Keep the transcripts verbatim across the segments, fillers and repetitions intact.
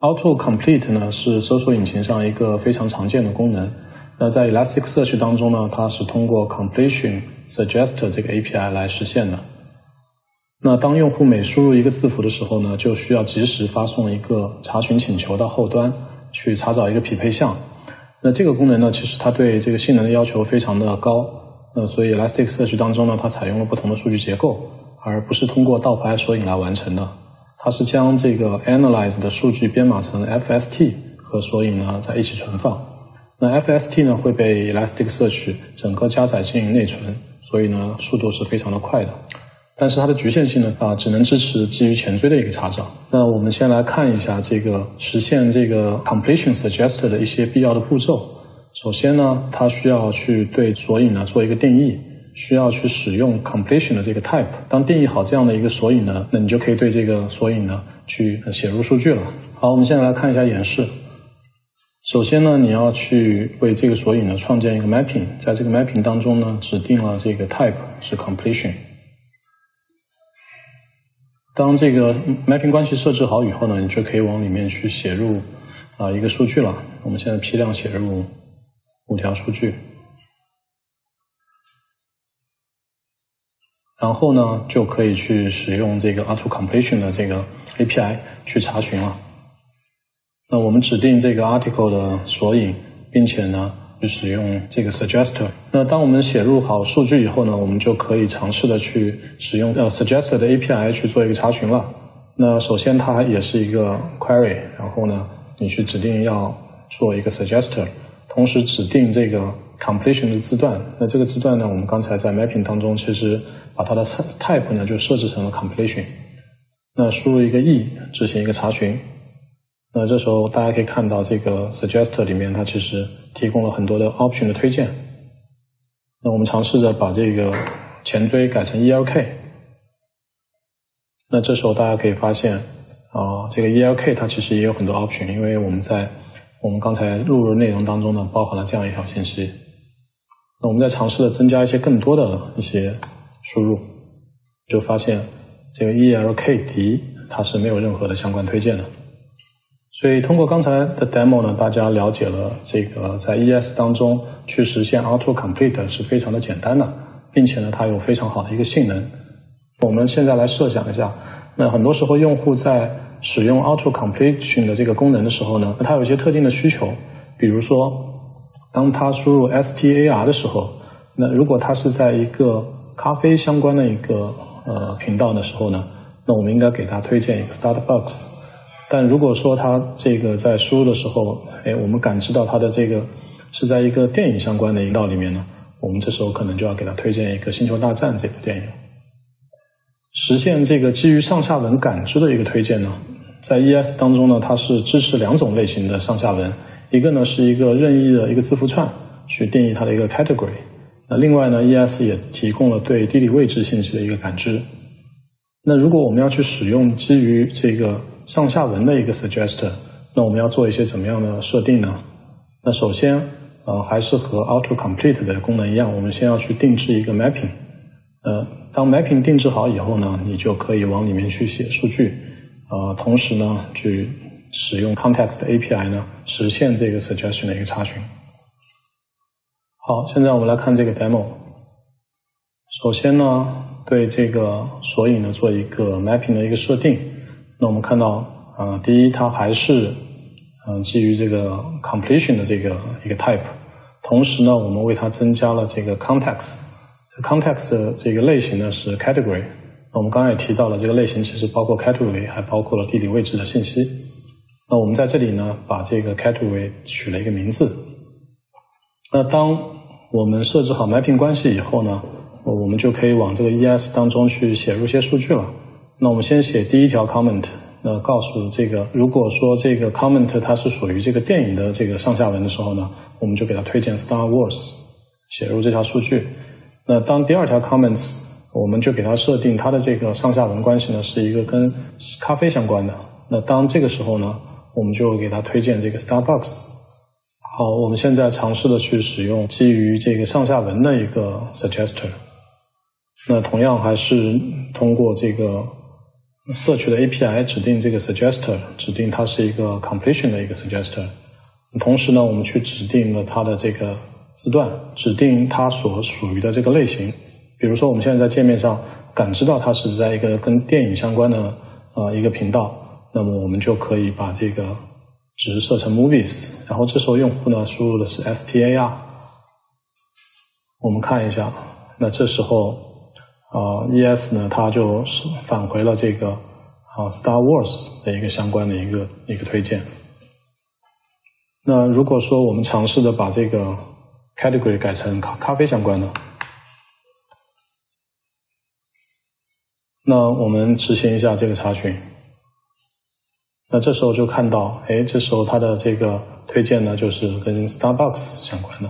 Auto Complete 呢是搜索引擎上一个非常常见的功能。那在 Elasticsearch 当中呢，它是通过 Completion Suggester 这个 A P I 来实现的。那当用户每输入一个字符的时候呢，就需要及时发送一个查询请求到后端去查找一个匹配项。那这个功能呢，其实它对这个性能的要求非常的高。呃，所以 Elasticsearch 当中呢，它采用了不同的数据结构，而不是通过倒排索引来完成的。它是将这个 Analyze 的数据编码成 F S T 和索引呢在一起存放。那 F S T 呢会被 Elasticsearch 整个加载进内存，所以呢速度是非常的快的。但是它的局限性呢啊，只能支持基于前缀的一个查找。那我们先来看一下这个实现这个 Completion Suggester 的一些必要的步骤。首先呢，它需要去对索引呢做一个定义。需要去使用 completion 的这个 type， 当定义好这样的一个索引呢，那你就可以对这个索引呢去写入数据了。好，我们现在来看一下演示。首先呢，你要去为这个索引呢创建一个 mapping， 在这个 mapping 当中呢，指定了这个 type 是 completion。当这个 mapping 关系设置好以后呢，你就可以往里面去写入啊、呃、一个数据了。我们现在批量写入五条数据。然后呢，就可以去使用这个 Auto Completion 的这个 A P I 去查询了。那我们指定这个 article 的索引，并且呢，去使用这个 Suggester。那当我们写入好数据以后呢，我们就可以尝试的去使用呃 Suggester 的 A P I 去做一个查询了。那首先它也是一个 query， 然后呢，你去指定要做一个 Suggester， 同时指定这个 completion 的字段。那这个字段呢，我们刚才在 mapping 当中其实把它的 type 呢就设置成了 completion。那输入一个 e 执行一个查询。那这时候大家可以看到这个 suggester 里面它其实提供了很多的 option 的推荐。那我们尝试着把这个前缀改成 E L K。那这时候大家可以发现啊，这个 E L K 它其实也有很多 option， 因为我们在我们刚才录入内容当中呢包含了这样一条信息。那我们在尝试着增加一些更多的一些输入，就发现这个 E L K 迪它是没有任何的相关推荐的。所以通过刚才的 demo 呢，大家了解了这个在 E S 当中去实现 Auto Complete 是非常的简单的，并且呢它有非常好的一个性能。我们现在来设想一下，那很多时候用户在使用 Auto Completion 的这个功能的时候呢，它有一些特定的需求，比如说当他输入 S T A R 的时候，那如果他是在一个咖啡相关的一个呃频道的时候呢，那我们应该给他推荐一个 Starbucks。但如果说他这个在输入的时候，哎，我们感知到他的这个是在一个电影相关的频道里面呢，我们这时候可能就要给他推荐一个星球大战这部电影。实现这个基于上下文感知的一个推荐呢，在 E S 当中呢，它是支持两种类型的上下文，一个呢是一个任意的一个字符串去定义它的一个 category。那另外呢 E S 也提供了对地理位置信息的一个感知。那如果我们要去使用基于这个上下文的一个 suggester， 那我们要做一些怎么样的设定呢？那首先呃还是和 auto complete 的功能一样，我们先要去定制一个 mapping。呃当 mapping 定制好以后呢，你就可以往里面去写数据，呃同时呢去使用 context A P I 呢实现这个 suggestion 的一个查询。好，现在我们来看这个 demo。首先呢，对这个索引呢做一个 mapping 的一个设定。那我们看到，呃，第一，它还是嗯、呃、基于这个 completion 的这个一个 type， 同时呢，我们为它增加了这个 context。这 context 的这个类型呢是 category。那我们刚才也提到了，这个类型其实包括 category， 还包括了地理位置的信息。那我们在这里呢，把这个 category 取了一个名字。那当我们设置好 mapping 关系以后呢，我们就可以往这个 E S 当中去写入一些数据了。那我们先写第一条 comment， 那告诉这个，如果说这个 comment 它是属于这个电影的这个上下文的时候呢，我们就给它推荐 Star Wars， 写入这条数据。那当第二条 comments， 我们就给它设定它的这个上下文关系呢是一个跟咖啡相关的。那当这个时候呢，我们就给它推荐这个 Starbucks。好，我们现在尝试的去使用基于这个上下文的一个 suggester。那同样还是通过这个 search 的 A P I 指定这个 suggester， 指定它是一个 completion 的一个 suggester。同时呢，我们去指定了它的这个字段，指定它所属于的这个类型。比如说我们现在在界面上感知到它是在一个跟电影相关的呃一个频道，那么我们就可以把这个值设成 movies， 然后这时候用户呢输入的是 S T A R。我们看一下，那这时候呃 E S 呢它就是返回了这个啊 Star Wars 的一个相关的一个一个推荐。那如果说我们尝试的把这个 category 改成咖咖啡相关的，那我们执行一下这个查询，那这时候就看到，哎，这时候它的这个推荐呢就是跟 Starbucks 相关的。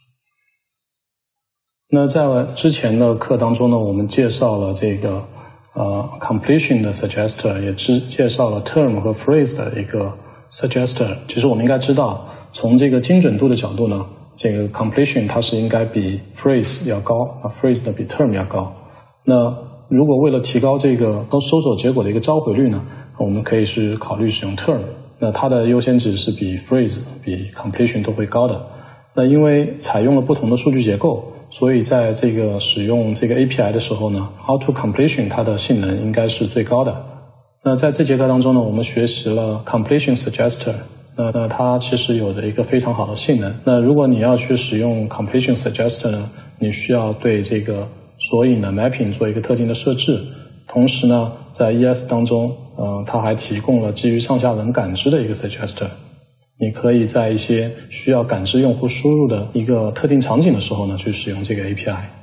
那在之前的课当中呢，我们介绍了这个呃 completion 的 suggester， 也只介绍了 term 和 phrase 的一个 suggester。其实我们应该知道，从这个精准度的角度呢，这个 completion 它是应该比 phrase 要高，啊 phrase 的比 term 要高。那如果为了提高这个搜索结果的一个召回率呢，我们可以是考虑使用 term， 那它的优先值是比 phrase 比 completion 都会高的。那因为采用了不同的数据结构，所以在这个使用这个 A P I 的时候呢 ，auto completion 它的性能应该是最高的。那在这节课当中呢，我们学习了 completion suggester， 那那它其实有着一个非常好的性能。那如果你要去使用 completion suggester 呢，你需要对这个索引的 mapping 做一个特定的设置，同时呢，在 E S 当中，呃，它还提供了基于上下文感知的一个 suggester。你可以在一些需要感知用户输入的一个特定场景的时候呢，去使用这个 A P I。